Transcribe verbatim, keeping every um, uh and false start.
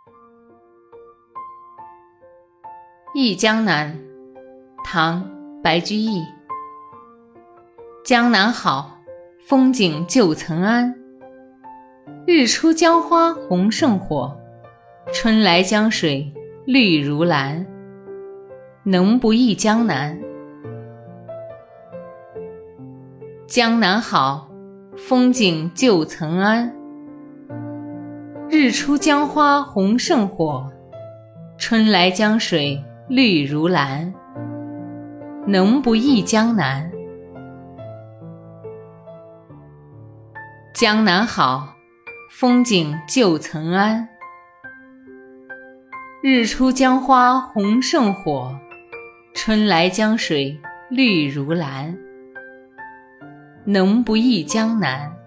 忆江南，唐·白居易。江南好，风景旧曾谙。日出江花红胜火，春来江水绿如蓝。能不忆江南？江南好，风景旧曾谙。日出江花红胜火，春来江水绿如蓝。能不忆江南？江南好，风景旧曾谙。日出江花红胜火，春来江水绿如蓝。能不忆江南？